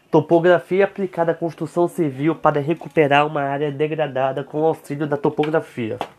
Topografia aplicada à construção civil para recuperar uma área degradada com auxílio da topografia.